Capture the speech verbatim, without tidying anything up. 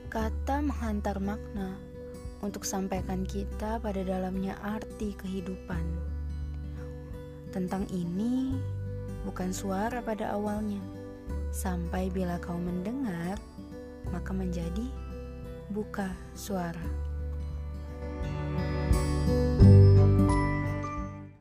Kata menghantar makna untuk sampaikan kita pada dalamnya arti kehidupan. Tentang ini bukan suara pada awalnya, sampai bila kau mendengar, maka menjadi buka suara.